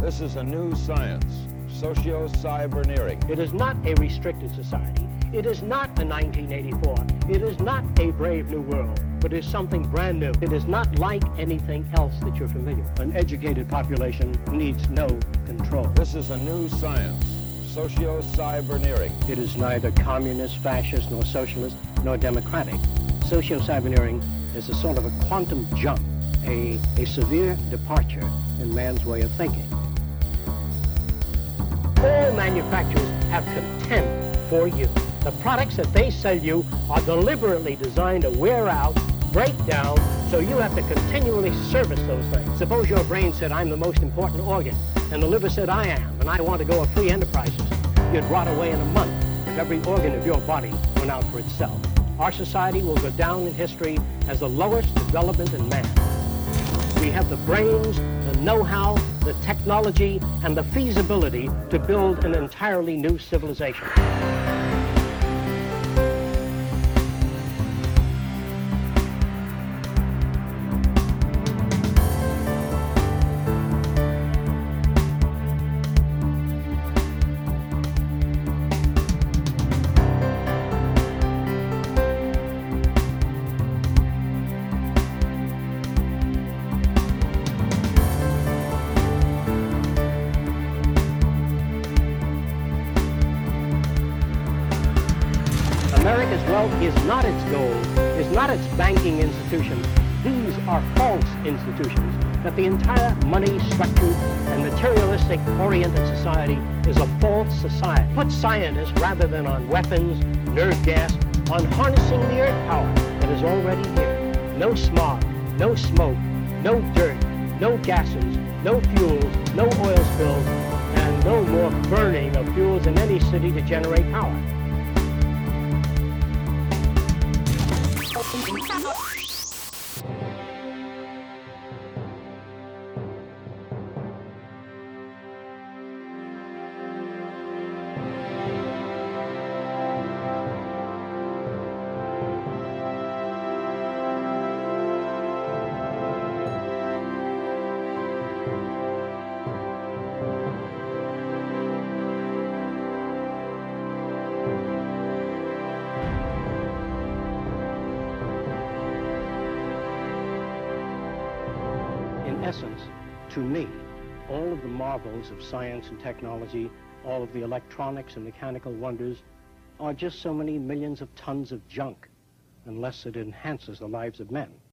This is a new science, socio-cyberneering. It is not a restricted society. It is not a 1984. It is not a brave new world, but it is something brand new. It is not like anything else that you're familiar with. An educated population needs no control. This is a new science, socio-cyberneering. It is neither communist, fascist, nor socialist, nor democratic. Socio-cyberneering is a sort of a quantum jump, a severe departure in man's way of thinking. All manufacturers have contempt for you. The products that they sell you are deliberately designed to wear out, break down, so you have to continually service those things. Suppose your brain said, I'm the most important organ, and the liver said, I am, and I want to go a free enterprise system. You'd rot away in a month if every organ of your body went out for itself. Our society will go down in history as the lowest development in man. We have the brains, the know-how, the technology, and the feasibility to build an entirely new civilization. America's wealth is not its goal, is not its banking institutions. These are false institutions. That the entire money-structured and materialistic-oriented society is a false society. Put scientists, rather than on weapons, nerve gas, on harnessing the earth power that is already here. No smog, no smoke, no dirt, no gases, no fuels, no oil spills, and no more burning of fuels in any city to generate power. In essence, to me, all of the marvels of science and technology, all of the electronics and mechanical wonders, are just so many millions of tons of junk, unless it enhances the lives of men.